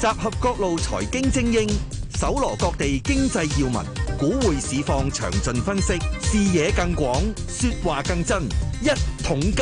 集合各路財經精英，搜羅各地經濟要聞，股匯市況詳盡分析，視野更廣，說話更真。一桶金。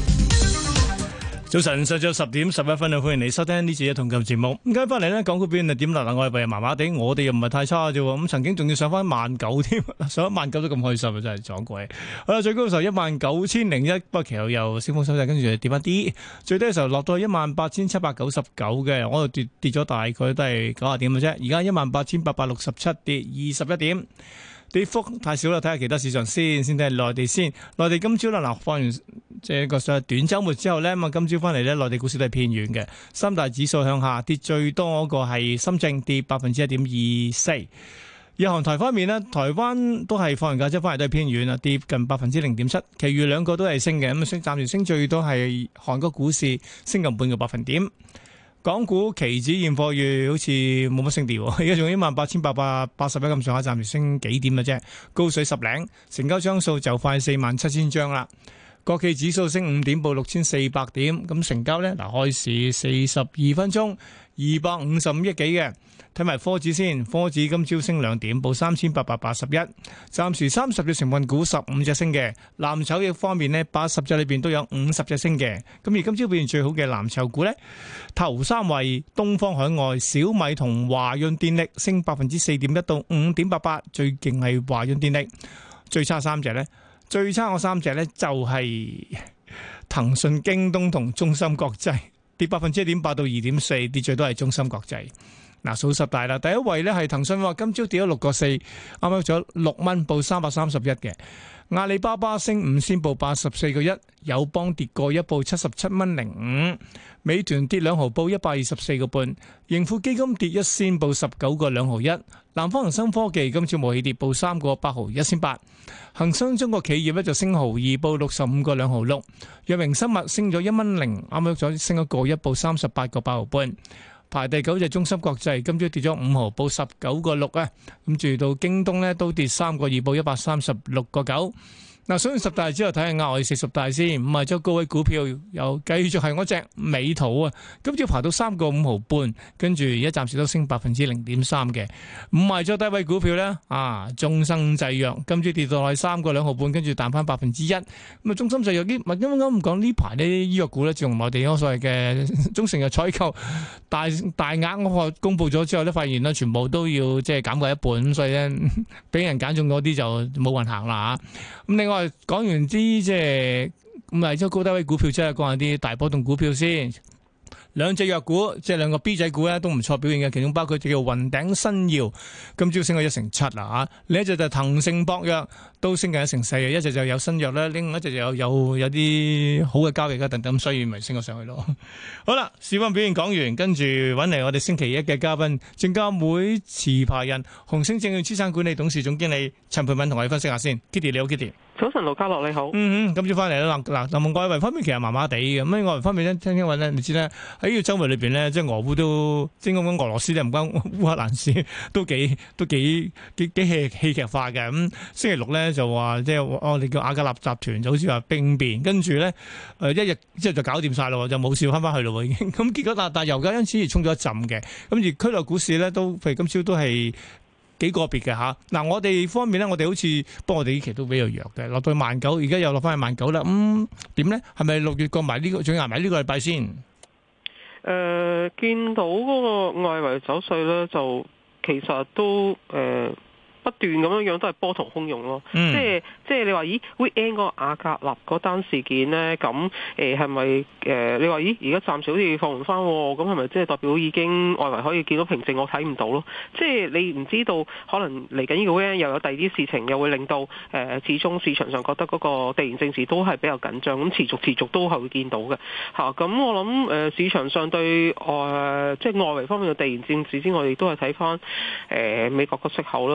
早晨，上晝10:11啊，歡迎你收聽呢次嘅一桶金節目。咁今日翻嚟呢，港股表現係點啦？外圍麻麻地，我哋又唔係太差啫。咁曾經仲要上翻19,000添，上19,000都咁開心啊！真係撞鬼。好啦，最高嘅時候19,001，不過其後又升風收勢，跟住跌翻啲。最低嘅時候落到18,799嘅，我度跌咗大概都係90點嘅啫。而家18,867，跌21點。跌幅太少啦，睇下其他市場先睇下內地先。內地今朝啦，嗱放完即係個短週末之後呢，咁啊今朝翻嚟呢，內地股市都係偏軟嘅。三大指數向下，跌最多嗰個係深證，跌1.24%。日韓台方面呢，台灣都係放完假之後翻嚟都係偏軟啊，跌近0.07%。其餘兩個都係升嘅，咁暫時升最多係韓國股市升近半個百分點。港股期指現貨月好似冇乜升跌，而家仲18,881咁上下，暫時升幾點嘅啫，高水10零，成交張數就快47,000張啦。國企指數升5點，報6,400點，咁成交呢，嗱開市42分鐘255億幾嘅。睇埋科指先，科指今朝升2點，報3,881。暫時30隻成分股15隻升嘅，藍籌嘅方面呢，80隻裏邊都有50隻升嘅。咁而今朝表現最好嘅藍籌股呢，頭三位東方海外、小米同華潤電力升4.1%到5.88%，最勁係華潤電力。最差三隻呢，最差嗰三隻呢就係騰訊、京東同中芯國際，跌1.8%到2.4%，跌最多係中芯國際。嗱，數十大啦，第一位呢係騰訊，話今朝跌咗6個4，啱啱咗6蚊，報331嘅。阿里巴巴升5仙，報84個1，友邦跌過1，報77蚊05，美團跌2毫，報124個半，盈富基金跌1仙，報19個2毫1，南方恒生科技今朝冇起跌，報3個8毫1仙8，恒生中國企業呢就升毫2，報65個2毫6，藥明生物升咗1蚊0，啱啱咗升咗個1，報38個8毫半。排第9隻中芯國際，今朝跌咗5毫，報19個6啊！咁住到京東呢都跌3個2，報136個9。嗱，數完十大之後睇下額外40大先，五十周高位股票又繼續係嗰隻美圖啊！今朝爬到3個5毫半，跟住而家暫時都升0.3%嘅。五十周低位股票呢，中生製藥今朝跌到係3個2毫半，跟住彈翻1%。咁啊，中生製藥啲唔係咁唔講呢排呢醫藥股咧，自從內地嗰所謂嘅中成藥採購大額嗰個公佈咗之後咧，發現咧全部都要即係減過一半，咁所以咧俾人揀中嗰啲就冇運行啦嚇。咁另外講完啲即係五十周高低位股票，即係講下啲大波動股票先。兩隻藥股即係兩個 B 仔股咧都唔錯表現嘅，其中包括叫雲頂新耀，今朝升咗1.7%啦嚇。另一隻就係騰盛博藥都升緊1.4%，一隻就有新藥啦，另一隻就有啲好嘅交易啦等等，所以咪升咗上去咯。好啦，市況表現講完，跟住揾嚟我哋星期一嘅嘉賓，證監會持牌人、紅星證券資產管理董事總經理陳蓓敏同我哋分析下先。Kitty 你好 ，Kitty。 早晨，盧家樂你好。 今朝翻嚟啦。嗱，外圍方面其實麻麻地嘅。咁外圍方面咧，聽話咧，你知咧喺呢個週末裏邊咧，即係俄烏都，即係講俄羅斯咧唔關烏克蘭事，都幾戲劇化嘅。咁星期六咧就話即係我哋叫瓦格納集團就好似話兵變，跟住咧一日之後就搞掂晒咯，就冇事翻返去咯已經。咁結果但油價因此而衝咗一陣嘅。咁而區內股市咧都譬如今朝都係幾個別嘅嚇。嗱，我哋方面咧，我哋好似不過我哋呢期都比較弱嘅，落到19,000，而家又落翻去19,000啦。點咧？係咪6月過埋呢個，仲要捱埋呢個禮拜先？ 見到嗰個外圍走勢咧，就其實都不斷咁樣都係波濤洶湧咯。即係你話咦 ，weekend 嗰個瓦格納嗰單事件呢？咁係咪你話咦，而家暫時好似放緩翻，咁係咪即係代表已經外圍可以見到平靜？我睇唔到咯。即係你唔知道，可能嚟緊呢個 weekend 又有第二啲事情，又會令到始終市場上覺得嗰個地緣政治都係比較緊張，咁持續都係會見到嘅嚇。咁我諗市場上對即係外圍方面嘅地緣政治之外，亦都係睇翻美國個息口啦。雖然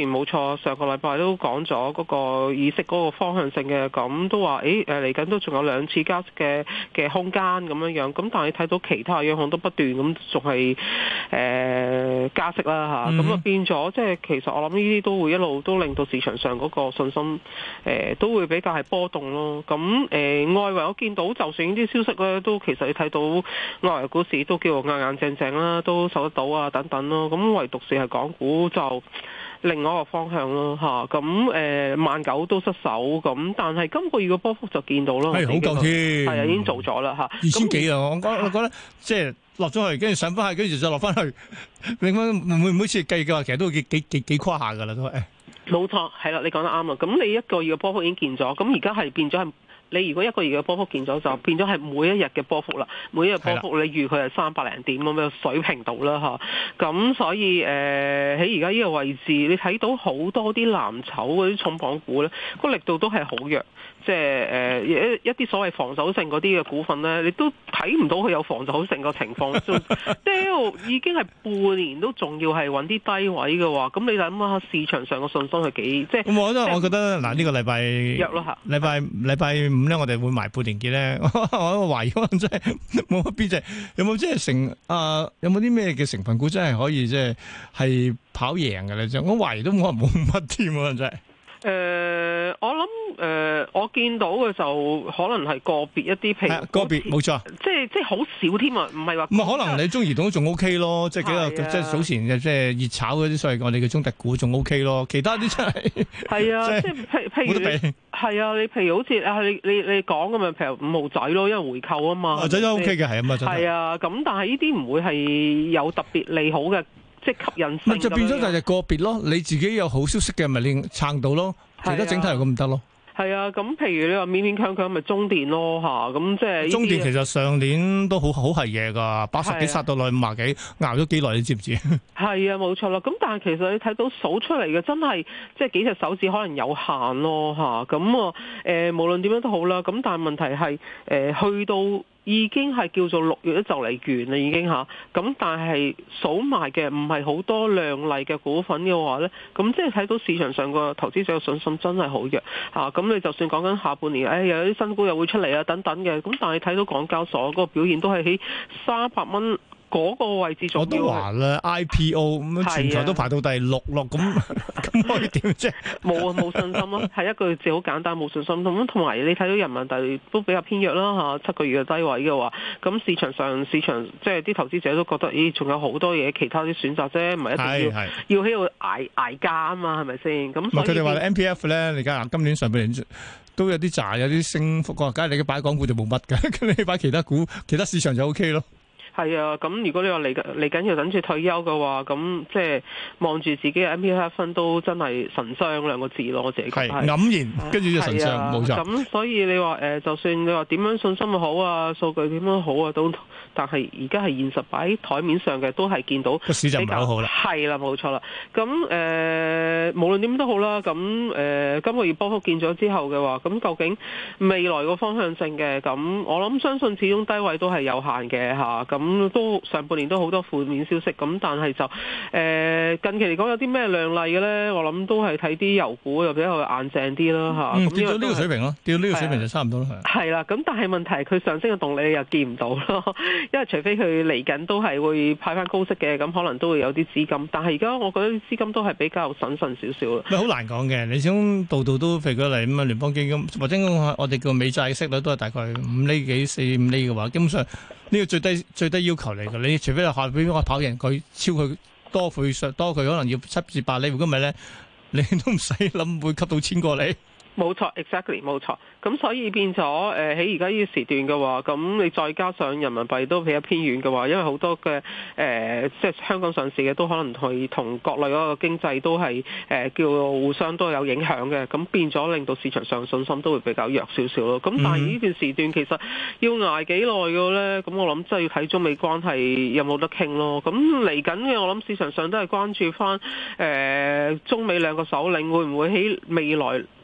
冇錯，上個禮拜都講咗嗰個議息嗰個方向性嘅，咁都話嚟緊都仲有2次加息嘅空間咁樣，咁但係睇到其他央行都不斷咁仲係加息啦嚇，咁啊變咗即係其實我諗呢啲都會一路都令到市場上嗰個信心都會比較係波動咯。咁外圍我見到就算呢啲消息咧，都其實你睇到外圍股市都叫做硬硬正正啦，都受得到啊等等咯。咁唯獨是係港股就另外一個方向咯嚇。咁19,000都失守，咁但係今個月嘅波幅就見到咯， 係好夠添， 係啊已經做咗啦嚇 ，2000幾啊！我覺得即係落咗去，跟住上翻去，跟住再落翻去，另外每次計嘅話，其實都幾誇下㗎啦都係。 冇錯，係啦，你講得啱啊！咁你一個月嘅波幅已經見咗，咁而家係變咗係。你如果一個月嘅波幅見咗，就變咗係每一日嘅波幅啦。每一日波幅你預佢係300零點咁嘅水平度啦嚇。咁所以喺而家呢個位置，你睇到好多啲藍籌嗰啲重磅股咧，個力度都係好弱。即係一啲所謂防守性嗰啲嘅股份咧，你都睇唔到佢有防守性嘅情況。已經係半年都仲要係揾啲低位嘅話，咁你諗下市場上嘅信心係幾即係？咁我覺得嗱呢個禮拜弱咯嚇。 禮拜5咧，我哋會埋半年結咧。我懷疑可能真係冇乜邊隻，有冇即係有冇啲咩嘅成分股真係可以即係跑贏嘅咧？我懷疑都可能冇乜添啊！真係。 我諗我見到嘅就可能係個別一啲，譬如個別冇錯， 即係好少添啊，唔係話唔係可能你中移動都仲 OK 咯，即係幾個即係早前嘅即係熱炒嗰啲所謂我哋嘅中特股仲 OK 咯，其他啲真係係啊，即係譬如係啊，你譬如好似你講咁啊，譬如5號仔咯，因為回購啊嘛， 仔都 OK 嘅係啊嘛， 係啊，咁但係呢啲唔會係有特別利好嘅。即係吸引性， 咪就變咗就係個別咯。你自己有好消息嘅，咪你撐到咯。其他整體又咁唔得咯。 係啊，咁譬如你話勉勉強強咪中電咯嚇，咁即係中電其實上年都好係嘢㗎，80幾殺到落去50幾，熬咗幾耐你知唔知？ 係啊，冇錯啦。咁但係其實你睇到數出嚟嘅真係即係幾隻手指可能有限咯嚇。咁無論點樣都好啦。咁但係問題係去到。已經係叫做6月都就嚟完啦，已經嚇。咁但係數埋嘅唔係好多亮麗嘅股份嘅話呢，咁即係睇到市場上個投資者嘅信心真係好弱嚇。咁你就算講緊下半年，又有啲新股又會出嚟啊等等嘅，咁但係睇到港交所嗰個表現都係喺300蚊。嗰個位置仲要， 我都話啦 IPO 咁全球都排到第6咯，咁可以點啫？ 冇信心咯，係一句字好簡單，冇信心。咁同埋你睇到人民幣都比較偏弱啦嚇，7個月嘅低位嘅話，咁市場即係啲投資者都覺得，咦，仲有好多嘢其他啲選擇啫，唔係一定要喺度捱價啊嘛，係咪先？咁佢哋話 MPF 咧，你而家今年上半年都有啲賺，有啲升幅嘅，梗係你擺港股就冇乜嘅，咁你擺其他股、其他市場就 OK 咯。 係啊，咁如果你話嚟緊要等住退休嘅話，咁即係望住自己嘅 MPF 分都真係神傷2個字咯，我自己覺得係黯然，跟住就神傷，冇錯。 咁所以你話就算你話點樣信心好啊，數據點樣好啊，都但係而家係現實擺喺台面上嘅，都係見到個市就唔係好好啦。係啦，冇錯啦。咁無論點都好啦，咁今個月波幅見咗之後嘅話，咁究竟未來個方向性嘅，咁我諗相信始終低位都係有限嘅嚇，咁。都上半年都好多負面消息，咁但係就近期嚟講有啲咩亮麗嘅咧？我諗都係睇啲油股又比較硬淨啲啦嚇。 跌到呢個水平咯，跌到呢個水平就差唔多啦。 係啦，咁但係問題係佢上升嘅動力又見唔到咯，因為除非佢嚟緊都係會派翻高息嘅，咁可能都會有啲資金。但係而家我覺得啲資金都係比較審慎少少咯。 好難講嘅，你始終度都譬如舉例咁啊，聯邦基金或者我哋叫美債息率都係大概5厘幾、4-5厘嘅話，基本上。呢個最低要求嚟㗎，你除非係下邊個跑贏佢超佢多倍上多佢可能要7至8厘，如果唔係咧，你都唔使諗會吸到千過你。 冇錯 ，exactly 冇錯。咁所以變咗喺而家呢個時段嘅話，咁你再加上人民幣都比較偏軟嘅話，因為好多嘅即係香港上市嘅都可能同國內嗰個經濟都係叫互相都有影響嘅，咁變咗令到市場上信心都會比較弱少少咯。咁但係呢段時段其實要捱幾耐嘅咧？咁我諗真係要睇中美關係有冇得傾咯。咁嚟緊嘅我諗市場上都係關注翻中美兩個首領會唔會喺未來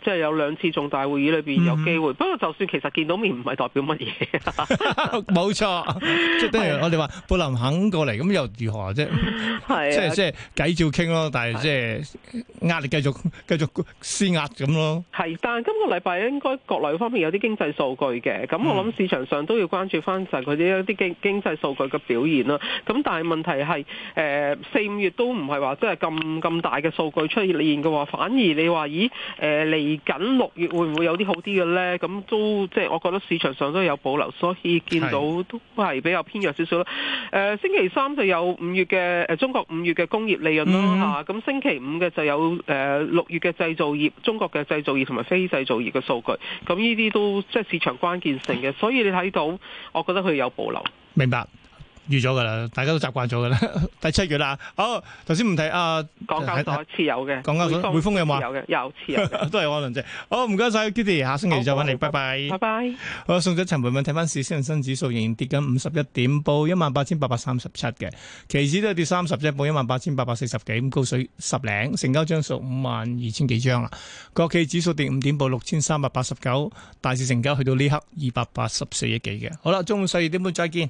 即係有2次重大會議裏邊有機會。不過就算其實見到面唔係代表乜嘢， 冇錯，即係等於我哋話布林肯過嚟，咁又如何啫？係即係計照傾咯，但係即係壓力繼續施壓咁咯。係，但係今個禮拜應該國內方面有啲經濟數據嘅，咁我諗市場上都要關注翻就係佢啲一啲經濟數據嘅表現啦。咁但係問題係4、5月都唔係話即係咁大嘅數據出現嘅話，反而你話咦嚟緊6月會唔會有啲好啲嘅咧？咁都即係我覺得市場上都有保留，所以見到都係比較偏弱少少啦。星期3就有5月嘅中國5月嘅工業利潤啦嚇，咁星期5嘅就有6月嘅製造業、中國嘅製造業同埋非製造業嘅數據，咁呢啲都即係市場關鍵性嘅，所以你睇到，我覺得佢有保留。明白。預咗噶啦，大家都習慣咗噶啦。第7月啦，好，頭先唔提港交所持有嘅，港交所匯豐有冇？有持有嘅，都係我輪啫。好，唔該晒 Kitty， 下星期再揾你，拜拜。拜拜。好，送咗陳蓓敏睇翻市，恒生指數仍然跌緊51點，報18,837嘅，期指都係跌30啫，報18,840幾，咁高水10零，成交張數52,000幾張啦。國企指數跌5點，報6,389，大市成交去到呢刻284億幾嘅。好啦，中午12點半再見。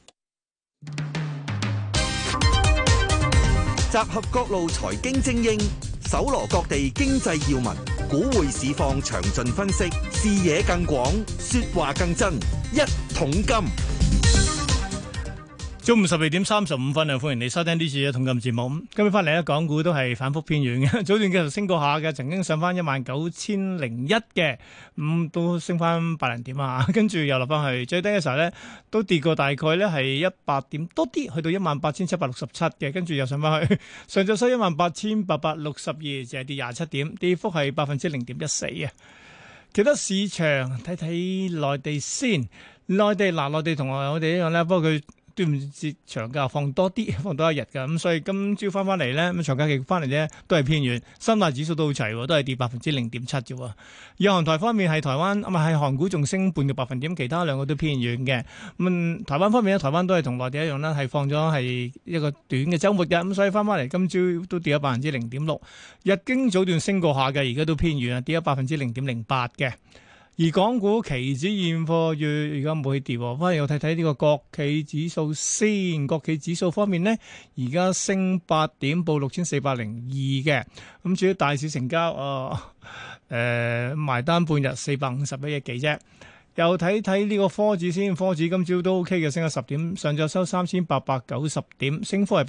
集合各路財經精英，搜羅各地經濟要聞，股匯市況詳盡分析，視野更廣，說話更真。一桶金， 中午12點35分啊！歡迎你收聽呢次嘅一桶金節目。今日翻嚟咧，港股都係反覆偏軟嘅，早段繼續升過下嘅，曾經上翻19,001嘅，都升翻8零點啊，跟住又落翻去，最低嘅時候咧都跌過大概咧係100點多啲，去到18,767嘅，跟住又上翻去，上晝收18,862，就係跌27點，跌幅係0.14%啊。其他市場睇睇內地先，內地同我哋一樣咧，不過佢端午節長假放多啲，放多一日㗎，咁所以今朝翻嚟咧，咁長假期翻嚟咧都係偏軟，深大指數都好齊，都係跌0.7%啫。日韓台方面係台灣，係韓股仲升半個百分點，其他兩個都偏軟嘅。咁台灣方面咧，台灣都係同內地一樣啦，係放咗係一個短嘅週末日，咁所以翻嚟今朝都跌咗0.6%。日經早段升過下嘅，而家都偏軟啊，跌咗0.08%嘅。而港股期指現貨月而家冇起跌，翻嚟又睇睇呢個國企指數先。國企指數方面呢，而家升8點，報6,402嘅。咁至於大市成交，埋單半日451億幾啫。又睇睇呢個科指先，科指今朝都 OK 嘅，升咗10點，上晝收3,890點，升幅係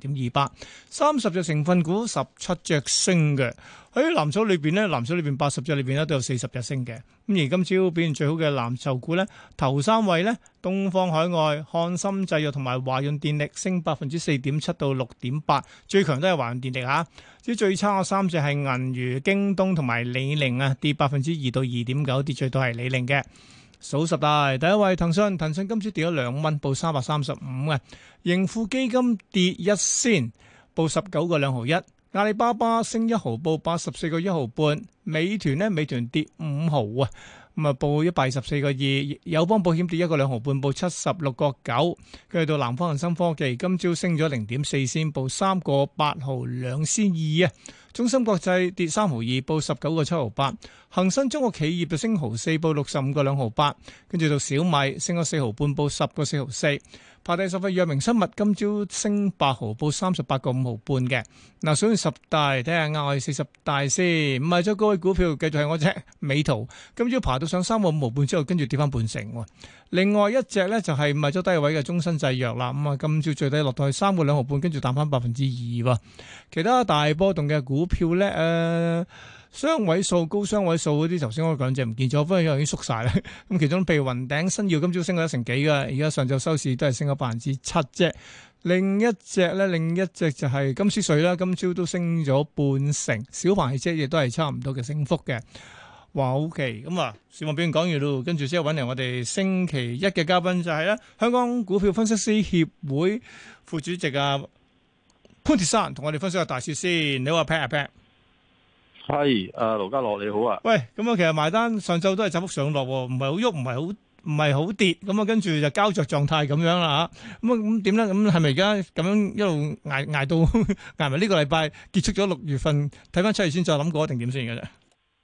0.28%。30隻成分股17隻升嘅，喺藍籌裏邊呢，藍籌裏邊80隻裏邊咧都有40隻升嘅。咁而今朝表現最好嘅藍籌股呢，頭3位呢，東方海外、漢森製藥同埋華潤電力升4.7%到6.8%，最強都係華潤電力嚇。至於最差嘅3隻係銀娛、京東同埋李寧啊，跌2%到2.9%，跌最多係李寧嘅。數十大第一位騰訊今朝跌咗2蚊，報335嘅。盈富基金跌1仙，報19個2毫1。阿里巴巴升1毫，報84個1毫半。美團跌5毫啊，咁啊報124個2。友邦保險跌1個2毫半，報76個9。跟住到南方恒生科技今朝升咗0.4仙，報3個8毫2仙2啊。中芯國際跌3毫2，報19個7毫8。恒生中國企業就升毫4，報65個2毫8。跟住到小米升咗4毫半，報10個4毫4。排第10位藥明生物今朝升8毫，報38個5毫半嘅。嗱，數完10大，睇下額外40大先。唔係咗高位股票，繼續係我隻美圖，今朝爬到上3個5毫半之後，跟住跌翻半成。另外一隻咧就係唔係咗低位嘅中生製藥啦。咁啊，今朝最低落到去3個2毫半，跟住彈翻2%。其他大波動嘅股票咧，雙位數、高雙位數嗰啲，頭先我講隻唔見咗，不過已經縮晒啦。咁其中譬如雲頂新耀今朝升咗1成幾嘅，而家上晝收市都係升咗7%啫。另一隻就係金斯瑞啦，今朝都升咗半成。小鵬汽車亦都係差唔多嘅升幅嘅。哇，OK，咁啊，市況表現講完咯，跟住之後揾嚟我哋星期一嘅嘉賓就係咧香港股票分析師協會副主席啊潘鐵珊，同我哋分析下大市先。你好啊 Pat。 係，盧家樂你好啊。 喂，咁啊，其實埋單上晝都係窄幅上落，唔係好喐，唔係好跌，咁啊，跟住就膠着狀態咁樣啦吓。咁點咧？咁係咪而家咁樣一路捱到捱埋呢個禮拜結束咗6月份？睇翻7月先再諗過定點先嘅啫。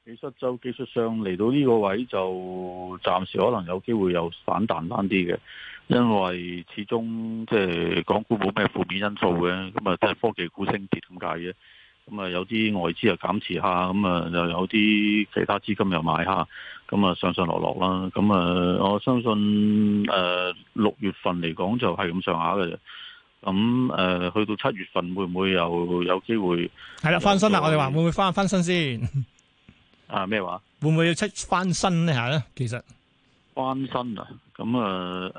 技術上嚟到呢個位就暫時可能有機會有反彈翻啲嘅，因為始終即係港股冇咩負面因素嘅，咁啊即係科技股升跌咁解嘅。咁啊有啲外資又減持下，咁啊又有啲其他資金又買下，咁啊上上落落啦。咁啊我相信6月份嚟講就係咁上下嘅啫。咁去到7月份會唔會又有機會？ 係啦，翻身啦！我哋話會唔會翻身先？ 啊咩話？ 會唔會要翻身呢下咧？其實翻身啊，咁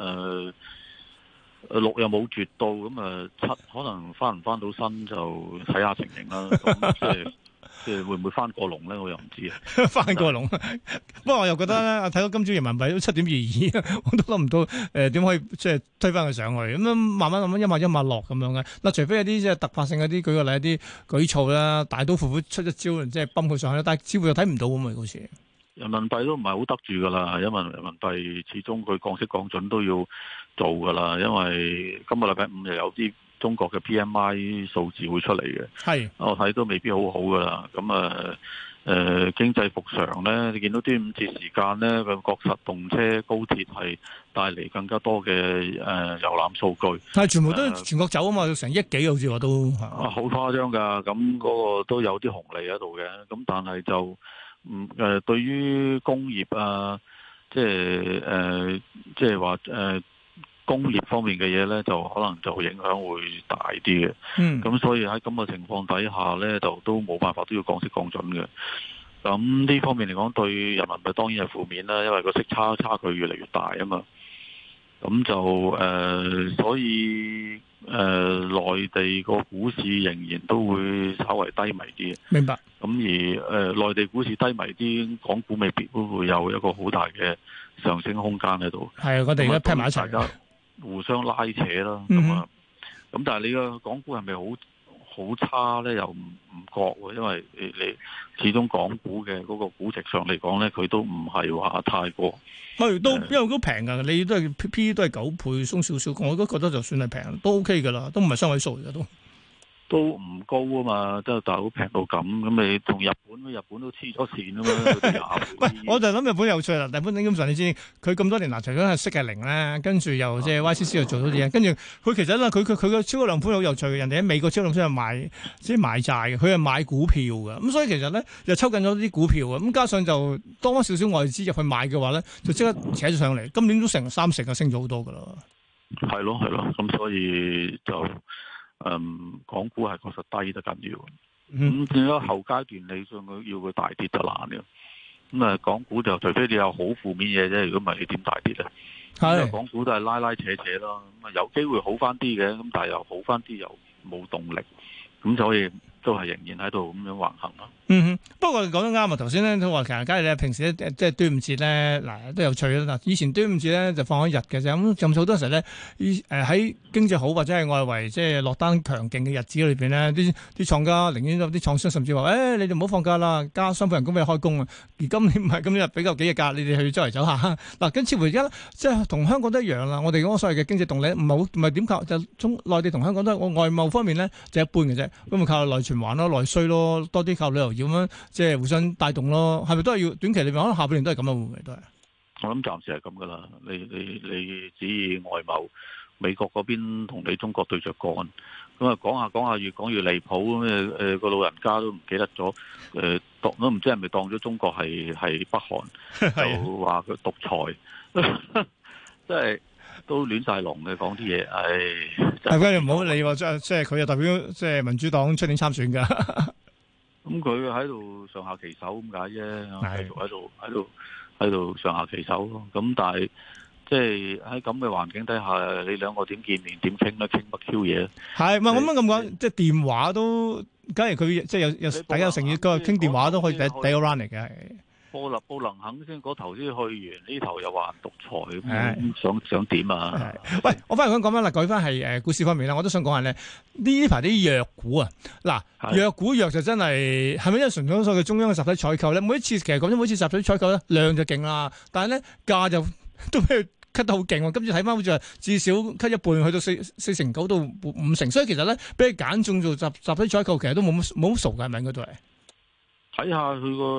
6又冇絕到，咁7可能翻唔翻到身就睇下情形啦。咁即係會唔會翻過龍咧？我又唔知啊。 翻過龍，不過我又覺得咧，睇到今朝人民幣都7.22，我都諗唔到點可以即係推翻佢上去。咁樣慢慢一碼一碼落咁樣嘅。嗱，除非有啲即係突發性嗰啲，舉個例一啲舉措啦，大刀闊斧出一招，即係泵佢上去，但係似乎又睇唔到咁啊，好似。 人民幣都唔係好得住噶啦，因為人民幣始終佢降息降準都要做噶啦，因為今個禮拜5又有啲中國嘅 PMI 數字會出嚟嘅， 係我睇都未必好好噶啦。咁經濟復常咧，你見到端午節時間咧，個國實動車、高鐵係帶嚟更加多嘅遊覽數據， 係全部都全國走啊嘛，成億幾好似話都好誇張㗎。咁嗰個都有啲紅利喺度嘅，咁但係就對於工業啊，即係話工業方面嘅嘢咧，就可能就影響會大啲嘅。咁所以喺咁嘅情況底下咧，就都冇辦法都要降息降準嘅。咁呢方面嚟講，對人民幣當然係負面啦，因為個息差距越嚟越大啊嘛。咁就所以內地個股市仍然都會稍為低迷啲。 明白。 咁而內地股市低迷啲，港股未必會有一個好大嘅上升空間喺度。 係，我哋而家拼埋一齊， 互相拉扯啦。咁但係你個港股係咪好差咧？又唔覺喎，因為你始終港股嘅嗰個估值上嚟講咧，佢都唔係話太過。 都因為都平㗎，你都係 P 都係9倍，鬆少少，我都覺得就算係平都 OK 㗎啦，都唔係雙位數嚟㗎都。 都唔高啊嘛，即係大佬平到咁，咁你同日本都黐咗線啊嘛。 喂，我就諗日本有趣啦。日本基本上你知佢咁多年嗱，除咗係息係零咧，跟住又即係 YCC 又做到啲嘢，跟住佢其實咧佢嘅超級量寬好有趣嘅。人哋喺美國超級量寬係買即係買債嘅，佢係買股票嘅。咁所以其實咧又抽緊咗啲股票嘅。咁加上就多少少外資入去買嘅話咧，就即刻扯咗上嚟。今年都成30%啊，升咗好多噶啦。係咯， 咁所以就。港股係確實低得緊要，咁變咗後階段你要佢大跌就難嘅。咁港股就除非你有好負面嘢啫，如果唔係你點大跌咧？係港股都係拉拉扯扯咯，咁有機會好翻啲嘅，咁但係又好翻啲又冇動力，咁所以都係仍然喺度咁樣橫行咯。 不過講得啱啊！頭先咧都話其實，假如你平時即係端午節咧，嗱都有趣啦。嗱，以前端午節咧就放一日嘅啫，咁好多時候咧，喺經濟好或者係外圍即係落單強勁嘅日子裏邊咧，啲廠家寧願有啲廠商甚至話，你哋唔好放假啦，加雙倍人工俾你開工啊！而今年唔係今日比較幾日假，你哋去周圍走下。嗱，跟似乎而家即係同香港都一樣啦。我哋嗰個所謂嘅經濟動力唔係點靠，就中內地同香港都係我外貿方面咧就一般嘅啫，咁咪靠內循環咯、內需咯，多啲靠旅遊業咁樣，即係互相帶動咯。係咪都係要短期裏面可能下半年都係咁啊？會唔會都係？我諗暫時係咁噶啦。你指意外貿，美國嗰邊同你中國對着幹，咁啊講下越講越離譜咁個老人家都唔記得咗都唔知係咪當咗中國係北韓，就話佢獨裁，即係都亂晒龍嘅講啲嘢，係佢唔好理喎，即係佢又代表即係民主黨出年參選噶。 咁佢喺度上下其手咁解啫，繼續喺度上下其手咯。咁但係即係喺咁嘅環境底下，你兩個點見面點傾咧？傾乜 Q 嘢？係咪咁講？即係電話都，假如佢即係有大家有誠意，佢傾電話都可以第一個 round 嚟嘅。布能肯先嗰頭先去完，呢頭又話獨裁咁，想點啊？ 喂，我翻嚟講翻啦，改翻係股市方面啦，我都想講下咧，呢排啲弱股啊，嗱，弱股弱就真係係咪因為純粹所謂嘅中央嘅集體採購咧？每一次其實講咗每次集體採購咧，量就勁啦，但係咧價就都俾佢 cut 得好勁喎。今次睇翻好似係至少 cut 一半，去到4成9到5成，所以其實咧俾佢揀中做集體採購，其實都冇乜數㗎，係咪應該都係？ 睇下佢個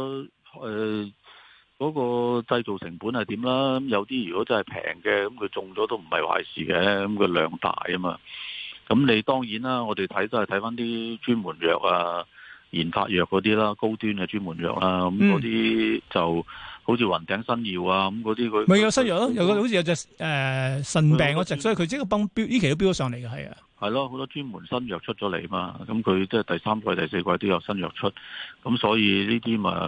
嗰個製造成本係點啦？咁有啲如果真係平嘅，咁佢中咗都唔係壞事嘅，咁佢量大啊嘛。咁你當然啦，我哋睇都係睇翻啲專門藥啊、研發藥嗰啲啦，高端嘅專門藥啦，咁嗰啲就好似雲頂新耀啊，咁嗰啲佢咪有新藥咯，有個好似有隻腎病嗰隻，所以佢即刻飆呢期都飆咗上嚟嘅，係啊。 係咯，好多專門新藥出咗嚟嘛，咁佢即係第三季、第四季都有新藥出，咁所以呢啲咪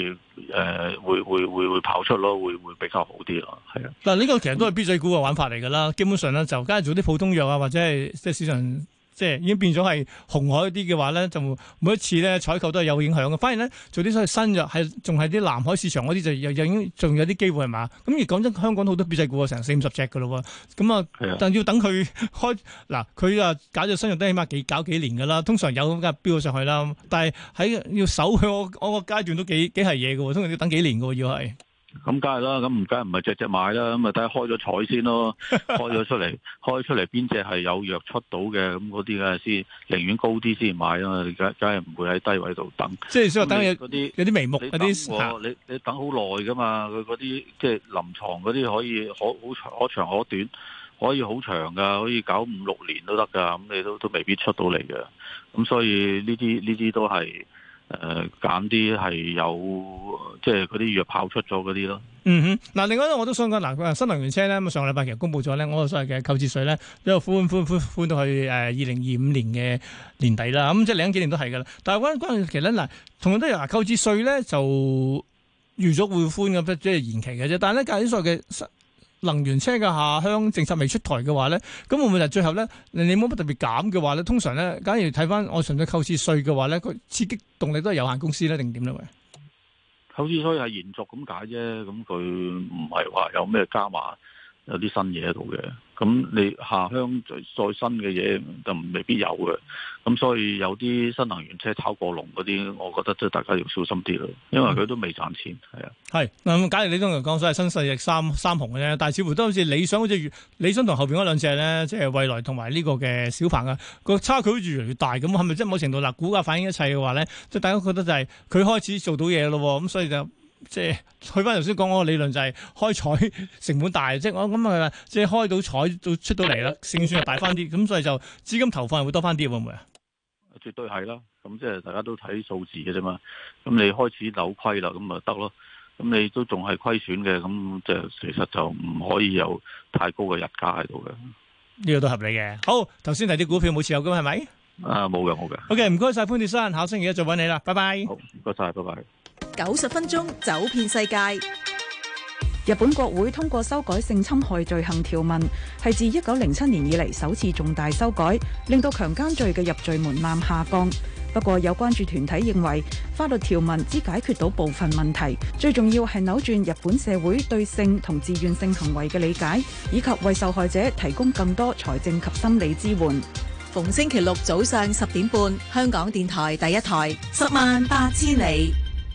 會跑出咯，會比較好啲咯，係啊。 嗱，呢個其實都係 B 仔股嘅玩法嚟㗎啦，基本上咧就梗係做啲普通藥啊，或者係即係市場。即係已經變咗係紅海啲嘅話咧，就每一次咧採購都係有影響嘅。反而咧做啲所謂新藥係仲係啲南海市場嗰啲就已經仲有啲機會係嘛？咁而講真，香港好多 B 仔股成40-50隻㗎咯喎。咁啊，但要等佢開嗱，佢啊搞咗新藥都起碼搞幾年㗎啦。通常有咁梗係飆咗上去啦。但係喺要守佢我個階段都幾係嘢㗎喎，通常要等幾年㗎喎，要係。 咁梗係啦，咁梗係唔係隻買啦，咁啊睇下開咗彩先咯，開咗出嚟邊隻係有藥出到嘅，咁嗰啲嘅先寧願高啲先買啊嘛，梗係唔會喺低位度等。即係所以等有啲眉目嗰啲，你等好耐噶嘛，佢嗰啲即係臨床嗰啲可以可長可短，可以好長噶，可以搞5-6年都得噶，咁你都未必出到嚟嘅。咁所以呢啲都係。揀啲係有即係嗰啲藥跑出咗嗰啲咯。 嗯哼，嗱，另外咧我都想講嗱，新能源車咧，咁上個禮拜其實公布咗咧，我所謂嘅購置稅咧，一路寬到去2025年嘅年底啦。咁即係嚟緊幾年都係噶啦。但係關鍵其實咧嗱，同樣都有購置稅咧就預咗會寬嘅，即係延期嘅啫。但係咧，介啲所謂嘅能源車嘅下鄉政策未出台嘅話咧，咁會唔會就最後咧，你冇乜特別減嘅話咧，通常咧，假如睇翻我純粹購置稅嘅話咧，佢刺激動力都係有限公司咧，定點咧？喂， 購置稅係延續咁解啫，咁佢唔係話有咩加碼，有啲新嘢喺度嘅。咁你下鄉再新嘅嘢就未必有嘅，咁所以有啲新能源車炒過龍嗰啲，我覺得即係大家要小心啲咯，因為佢都未賺錢，係啊。係咁，假如你通常講所謂新勢力三雄嘅啫，但係似乎都好似理想，好似理想同後邊嗰兩隻咧，即係蔚來同埋呢個嘅小鵬啊，個差距好似越嚟越大咁，係咪即係某程度嗱，股價反映一切嘅話咧，即係大家覺得就係佢開始做到嘢咯，咁所以就。即係去翻頭先講嗰個理論就係開彩成本大，即係我諗啊，即係開到彩到出到嚟啦，勝算又大翻啲，咁所以就資金投放係會多翻啲，會唔會啊？ 絕對係啦，咁即係大家都睇數字嘅啫嘛。咁你開始扭虧啦，咁咪得咯。咁你都仲係虧損嘅，咁即係其實就唔可以有太高嘅日價喺度嘅。 呢個都合理嘅。好，頭先提啲股票冇持有嘅係咪？ 冇嘅。 OK，唔該晒潘鐵珊，下星期一再揾你啦，拜拜。 好，唔該晒，拜拜。 90分鐘走遍世界。日本國會通過修改性侵害罪行條文，係自1907年以嚟首次重大修改，令到強姦罪嘅入罪門檻下降。不過有關注團體認為，法律條文只解決到部分問題，最重要係扭轉日本社會對性同自願性行為嘅理解，以及為受害者提供更多財政及心理支援。 逢星期六早上10點半，香港電台第一台，10萬8千里。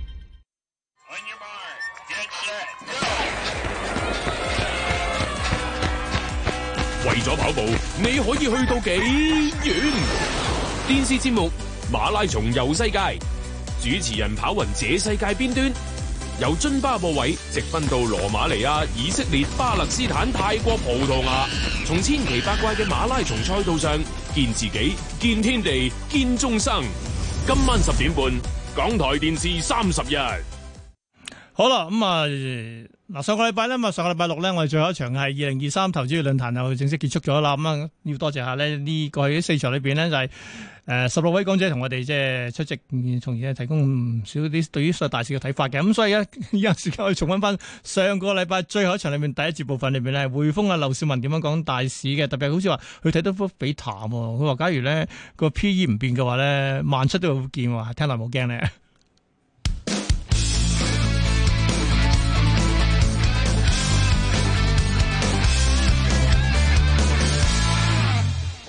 為咗跑步，你可以去到幾遠？電視節目《馬拉松遊世界》，主持人跑勻這世界邊端，由津巴布韋直奔到羅馬尼亞、以色列、巴勒斯坦、泰國、葡萄牙，從千奇百怪嘅馬拉松賽道上見自己、見天地、見眾生。今晚10點半，港台電視30日。 好啦，嗱，上個禮拜咧，上個禮拜六咧，我哋最後一場係2023投資論壇又正式結束咗啦。要多謝下咧呢過去4場裏邊咧就係16位講者同我哋即係出席，從而提供唔少啲對於大市嘅睇法嘅。咁所以咧，有時間可以重溫翻上個禮拜最後一場裏面第一節部分裏邊咧，匯豐啊劉少文點樣講大市嘅，特別係好似話佢睇得都比淡喎。佢話假如咧個 P/E 唔變嘅話咧，17,000都會見喎，聽落冇驚咧。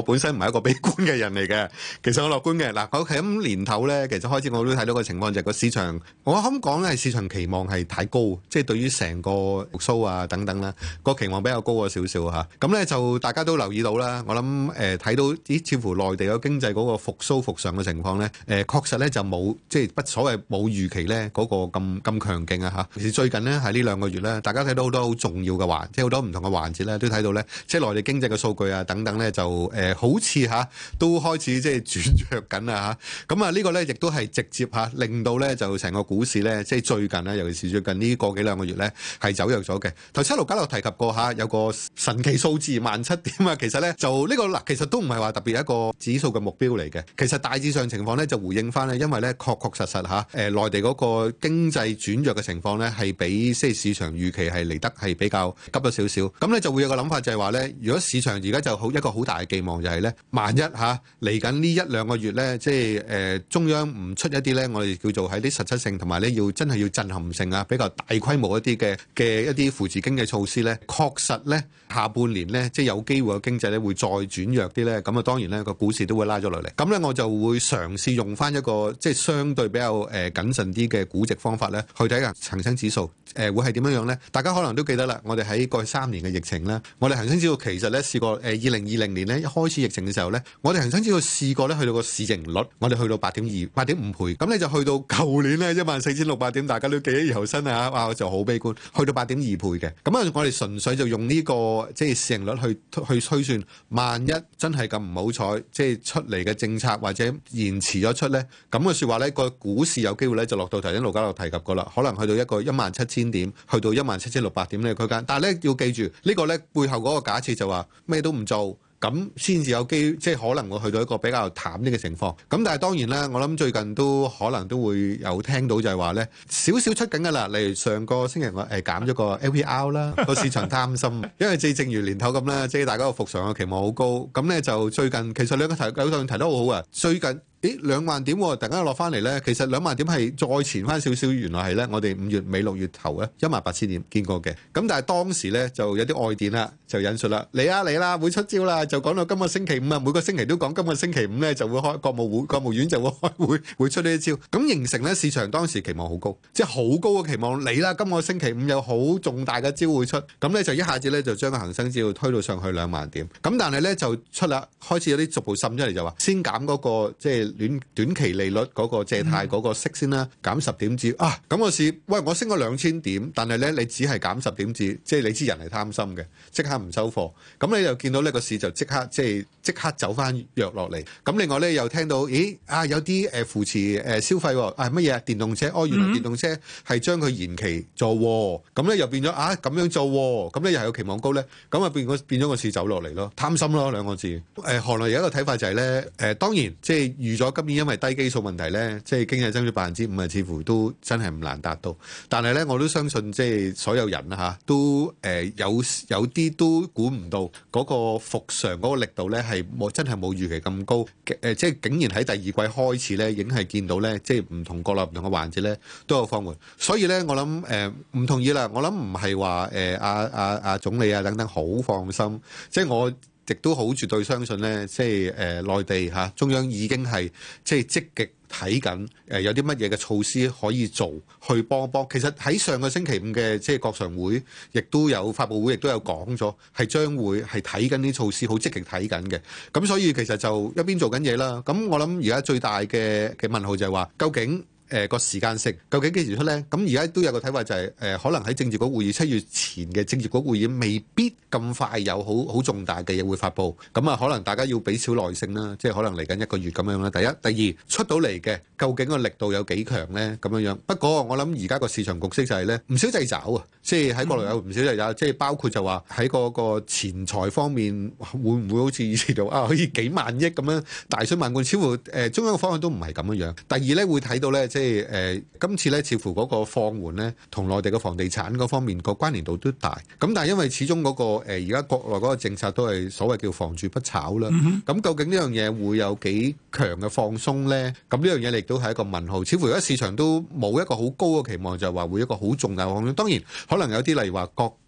我本身唔係一個悲觀嘅人嚟嘅，其實我樂觀嘅。嗱，我喺咁年頭咧，其實開始我都睇到個情況就係個市場，我咁講咧係市場期望係太高，即係對於成個復甦啊等等啦，個期望比較高咗少少嚇。咁咧就大家都留意到啦，我諗睇到似乎內地個經濟嗰個復甦復上嘅情況咧，確實咧就冇即係不所謂冇預期咧嗰個咁強勁啊嚇。其實最近呢，喺呢2個月咧，大家睇到好多好重要嘅即係好多唔同嘅環節咧，都睇到咧，即係內地經濟嘅數據啊等等咧，就好似都開始即係轉弱緊啊嚇。咁啊呢個咧亦都係直接令到咧就成個股市咧，即係最近咧，尤其是最近呢個幾兩個月咧係走弱咗嘅。頭先盧家樂提及過有個神奇數字17點啊，其實咧就呢個嗱，其實都唔係話特別一個指數嘅目標嚟嘅。其實大致上情況咧就回應翻咧，因為咧確實內地嗰個經濟轉弱嘅情況咧係比即係市場預期係嚟得係比較急咗少少。咁咧就會有個諗法就係話咧，如果市場而家就好一個好大嘅寄望就係咧，萬一嚟緊呢1-2個月咧，即係中央唔出一啲咧，我哋叫做喺啲實質性同埋咧要真係要震撼性啊，比較大規模一啲嘅一啲扶持經濟措施咧，確實咧下半年咧即係有機會個經濟咧會再轉弱啲咧，咁啊當然咧個股市都會拉咗落嚟。咁咧我就會嘗試用翻一個即係相對比較謹慎啲嘅估值方法咧，去睇下恒生指數會係點樣樣咧？大家可能都記得啦，我哋喺過去3年嘅疫情咧，我哋恒生指數其實咧試過2020年咧一開始疫情嘅時候咧，我哋恒生指數試過咧去到個市盈率，我哋去到8.5倍，咁你就去到舊年咧14,600點，大家都記憶猶新啊！哇，我就好悲觀，去到8.2倍嘅。咁啊，我哋純粹就用呢個即係市盈率去推算，萬一真係咁唔好彩，即係出嚟嘅政策或者延遲咗出咧，咁嘅説話咧，個股市有機會咧就落到頭先盧家樂提及過啦，可能去到一個17,000點，去到17,600點呢個區間。但係咧要記住呢個咧背後嗰個假設就話咩都唔做，咁先至有機，即係可能會去到一個比較淡啲嘅情況。咁但係當然啦，我諗最近都可能都會有聽到就係話咧，少少出緊㗎啦。例如上個星期我減咗個 LPR 啦，個市場擔心，因為正如年頭咁啦，即係大家個復常嘅期望好高。咁咧就最近其實兩個提得好好啊，最近。2萬點突然間落翻嚟咧，其實2萬點係再前翻少少，原來係咧我哋5月尾6月頭咧18,000點見過嘅。咁但係當時咧就有啲外電啦，就引述啦，嚟啦會出招啦，就講到今個星期5啊，每個星期都講今個星期5咧就會開國務院就會開會出呢一招，咁形成咧市場當時期望好高，即係好高嘅期望嚟啦，今個星期5有好重大嘅招會出，咁咧就一下子咧就將個恒生指數推到上去2萬點，咁但係咧就出啦，開始有啲逐步滲出嚟就話先減嗰個即係短期利率嗰個借貸嗰個息先啦，減10點子啊！咁個市，喂，我升咗2000點，但係咧你只係減10點子，即係你知人係貪心嘅，即刻唔收貨。咁你又見到呢個市就即刻走翻弱落嚟。咁另外咧又聽到，有啲扶持消費喎，乜嘢電動車？原來電動車係將佢延期做喎，咁咧又變咗咁樣做喎，咁咧又係有期望高咧，咁啊變咗個市走落嚟咯，貪心咯2個字。行內有一個睇法就係咧，當然即係預咗今年因為低基數問題咧，即係經濟增長5%啊，似乎都真係唔難達到。但係咧，我都相信即係所有人都有啲都估唔到嗰個復常嗰個力度咧係真係冇預期咁高。即係竟然喺第2季開始咧，已經係見到咧，即係唔同國內唔同嘅環節咧都有放緩。所以咧，我諗唔同意啦。我諗唔係話阿總理啊等等好放心，即係我亦都好絕對相信咧，即係內地中央已經係即係積極睇緊有啲乜嘢嘅措施可以做去幫。其實喺上個星期5嘅即係國常會，亦都有發佈會，亦都有講咗係將會係睇緊啲措施，好積極睇緊嘅。咁所以其實就一邊做緊嘢啦。咁我諗而家最大嘅問號就係話，究竟個時間性究竟幾時出呢？咁而家都有個睇法就係可能喺政治局會議7月前嘅政治局會議未必咁快有好重大嘅嘢會發布。咁啊，可能大家要俾少耐性啦，即係可能嚟緊1個月咁樣啦。第一、第二出到嚟嘅究竟個力度有幾強呢？咁樣。不過我諗而家個市場局勢就係呢，唔少掣肘啊，即係喺國內有唔少掣肘，即係包括就話喺嗰個錢財方面會唔會好似以前度可以幾萬億咁樣大水漫灌？似乎中央嘅方向都唔係咁樣。第二呢，會睇到呢，即係今次咧，似乎嗰個放緩咧，同內地嘅房地產嗰方面個關聯度都大。咁但係因為始終嗰個而家國內嗰個政策都係所謂叫房住不炒啦。咁究竟呢樣嘢會有幾強嘅放鬆咧？咁呢樣嘢亦都係一個問號。似乎而家市場都冇一個好高嘅期望，就係話會一個好重大嘅放鬆。當然可能有啲例如話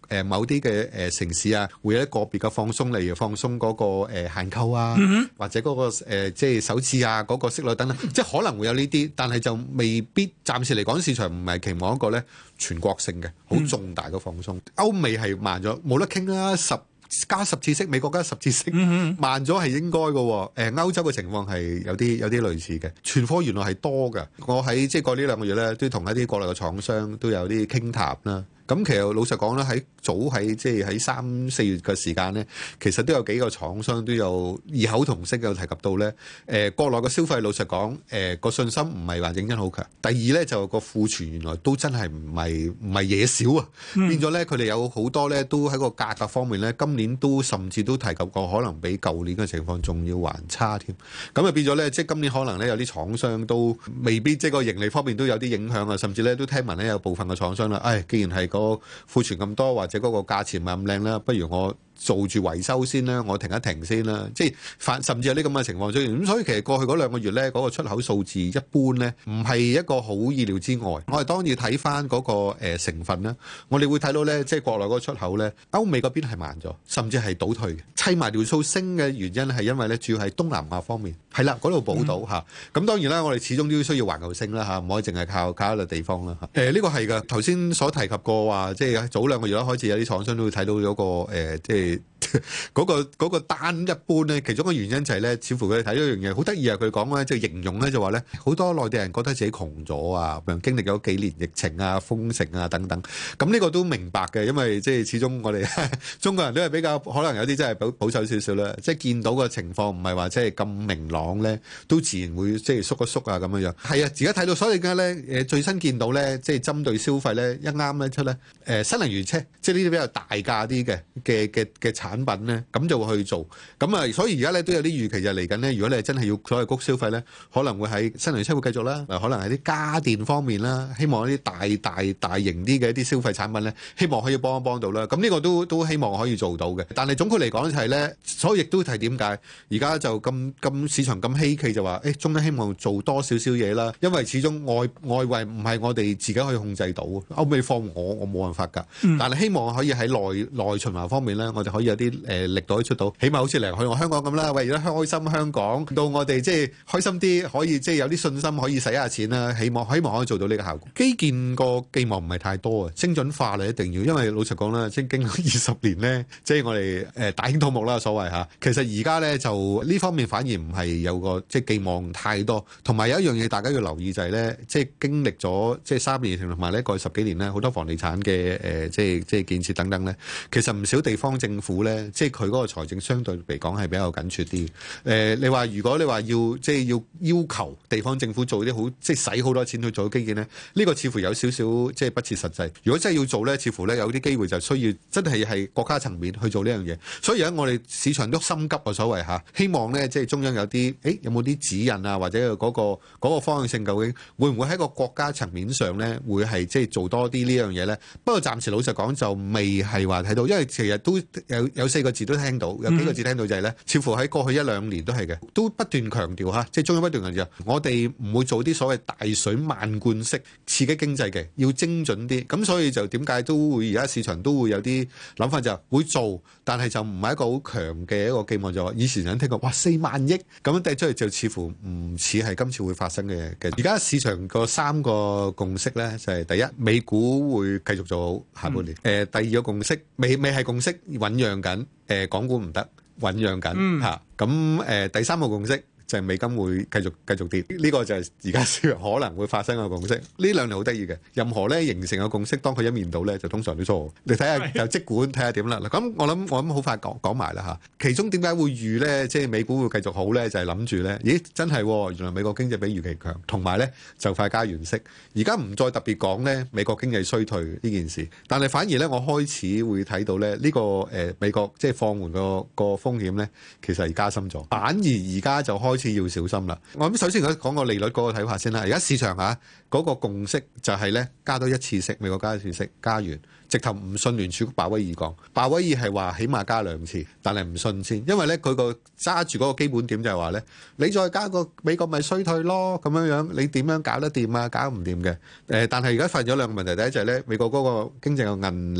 某啲嘅城市啊，會有一個別嘅放鬆，例如放鬆嗰個限購啊，或者嗰個即係首次啊嗰個息率等等，即係可能會有呢啲，但係就未必暫時嚟講，市場唔係期望一個咧全國性嘅好重大嘅放鬆。歐美係慢咗，冇得傾啦，加10次息，美國加10次息，慢咗係應該嘅。歐洲嘅情況係有啲類似嘅，存貨原來係多嘅。我喺即係過呢2個月咧，都同一啲國內嘅廠商都有啲傾談啦。咁其實老實講咧，喺即係喺3、4月嘅時間咧，其實都有幾個廠商都有異口同聲有提及到咧。國內嘅消費老實講，個信心唔係話認真好強。第二咧就個庫存原來都真係唔係嘢少啊，變咗咧佢哋有好多咧都喺個價格方面咧，今年都甚至都提及過，可能比舊年嘅情況仲要還差添。咁啊變咗咧，即係今年可能咧有啲廠商都未必即係個盈利方面都有啲影響啊，甚至咧都聽聞咧有部分嘅廠商啦，既然係個庫存咁多，或者嗰個價錢唔係咁靚啦，不如我做住維修先啦，我停一停先啦，即係甚至有啲咁嘅情況出現。咁所以其實過去嗰2個月咧，嗰個出口數字一般咧，唔係一個好意料之外。我哋當然睇翻嗰個成分啦，我哋會睇到咧，即係國內嗰個出口咧，歐美嗰邊係慢咗，甚至係倒退嘅。砌埋條數升嘅原因係因為咧，主要係東南亞方面係啦，嗰度補到嚇。咁當然啦，我哋始終都需要環球升啦嚇，唔可以淨係靠一個地方啦嚇。呢個係㗎，頭先所提及過話，即係早2個月開始有啲廠商都會睇到嗰個即係。嗰個單一般咧，其中嘅原因就係咧，似乎佢哋睇到一樣嘢好得意啊！佢講咧，即係形容咧就話咧，好多內地人覺得自己窮咗啊，經歷咗幾年疫情啊、封城啊等等。咁呢個都明白嘅，因為即係始終我哋中國人都係比較可能有啲真係保守少少啦。即係見到個情況唔係話即係咁明朗咧，都自然會即係縮一縮啊咁樣樣。係啊，而家睇到所以而家咧最新見到咧，即係針對消費咧一啱咧出咧新能源車，即係呢啲比較大價啲嘅產品咧，咁就會去做。咁啊，所以而家咧都有啲預期就嚟緊咧。如果你係真係要所謂谷消費咧，可能會喺新能源車會繼續啦，可能喺啲家電方面啦，希望一啲大型啲嘅一啲消費產品咧，希望可以幫到啦。咁呢個都希望可以做到嘅。但係總括嚟講就係咧，所以亦都係點解而家就咁市場咁稀奇就話，中央希望做多少少嘢啦。因為始終外圍唔係我哋自己可以控制到，歐美放我冇辦法㗎。但係希望可以喺內循環方面咧，我哋可以有啲力度可以出到，起碼好似嚟去我香港咁啦。為咗開心香港，到我哋即係開心啲，可以即係有啲信心可以使下錢啦。希望可以做到呢個效果。基建個寄望唔係太多啊，精準化咧一定要，因為老實講啦，即係經過20年咧，即係我哋大興土木啦，所謂嚇。其實而家咧就呢方面反而唔係有個即係寄望太多，同埋有一樣嘢大家要留意就係咧，即係經歷咗即係3年同埋呢過去10幾年咧，好多房地產嘅即係建設等等咧，其實唔少地方政府咧，即係佢嗰個財政相對嚟講係比較緊絀啲。你話如果你話要求地方政府做啲好即係使好多錢去做基建咧，呢個似乎有少少即係不切實際。如果真係要做咧，似乎咧有啲機會就需要真係國家層面去做呢樣嘢。所以而家我哋市場都心急啊，所謂嚇，希望咧即係中央有啲有冇啲指引啊，或者嗰個方向性究竟會唔會喺個國家層面上咧會係即係做多啲呢樣嘢咧？不過暫時老實講就未係話睇到，因為其實都有4個字都聽到，有幾個字聽到就係咧，似乎喺過去1-2年都係嘅，都不斷強調嚇，即係中央不斷強調，我哋唔會做啲所謂大水漫灌式刺激經濟嘅，要精準啲。咁所以就點解都會而家市場都會有啲諗法，就會做，但係就唔係一個好強嘅一個寄望。就話以前人聽過，哇4萬億咁樣掟出嚟，就似乎唔似係今次會發生嘅。而家市場個3個共識咧，就係第一，美股會繼續做好下半年。第二個共識未係共識，醞釀緊。港股唔得，醞釀緊嚇。咁第3個共識就係美金會繼續跌，呢個就係而家可能會發生嘅共識。呢2年好得意嘅，任何咧形成嘅共識，當佢一面倒咧，就通常都錯。你睇下就即管睇下點啦。嗱，咁我諗好快講埋啦嚇。其中點解會預咧，即係美股會繼續好咧？就係諗住咧，咦，真係原來美國經濟比預期強，同埋咧就快加完息。而家唔再特別講咧美國經濟衰退呢件事，但係反而咧我開始會睇到咧呢個美國即係放緩個風險咧，其實係加深咗。反而而家就開始要小心啦。我諗首先講個利率嗰個睇法先啦。而家市場嗰個共識就係咧加多1次息，美國加1次息，加完直頭唔信聯儲局鮑威爾講，鮑威爾係話起碼加2次，但係唔信先，因為咧佢個揸住嗰個基本點就係話咧，你再加個美國咪衰退咯，咁樣樣你點樣搞得掂啊？搞唔掂嘅。但係而家發現咗2個問題，第一就係咧美國嗰個經濟嘅韌力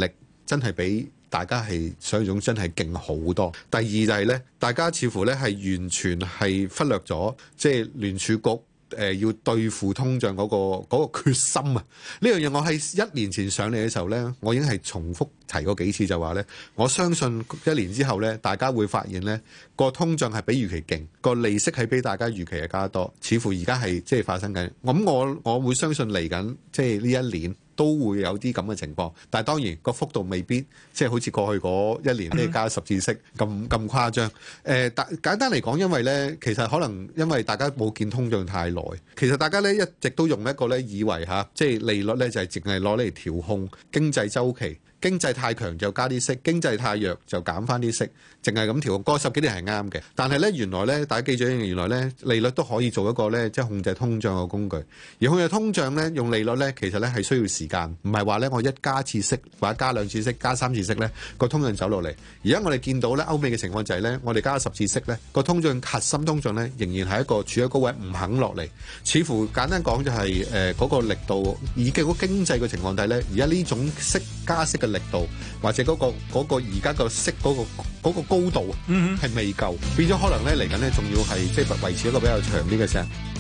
真係比大家係想象中真係勁好多。第二就係咧，大家似乎咧係完全係忽略咗，即係聯儲局要對付通脹嗰個決心啊！呢樣嘢我喺1年前上嚟嘅時候咧，我已經係重複提過幾次，就話咧，我相信1年之後咧，大家會發現咧個通脹係比預期勁，個利息係比大家預期係加多，似乎而家係即係發生緊。咁我會相信嚟緊即係呢一年都會有啲咁嘅情況，但係當然個幅度未必即係好似過去嗰1年咧加10次息咁誇張。簡單嚟講，因為咧其實可能因為大家冇見通脹太耐，其實大家咧一直都用一個咧以為即係利率咧就係淨係攞嚟調控經濟週期。經濟太強就加啲息，經濟太弱就減翻啲息，淨係咁調。過10幾年係啱嘅，但係咧原來咧大家記住，原來咧利率都可以做一個咧即係控制通脹嘅工具。而控制通脹咧用利率咧其實咧係需要時間，唔係話咧我一加次息或者加2次息、加3次息咧個通脹走落嚟。而家我哋見到咧歐美嘅情況就係咧，我哋加10次息咧個通脹核心通脹咧仍然係一個處喺高位唔肯落嚟，似乎簡單講就係嗰個力度以經濟嘅情況底咧，而家呢種加息嘅力度或者嗰個而家個息嗰個高度係未夠，變咗可能咧嚟緊咧仲要係即係維持一個比較長啲嘅時間。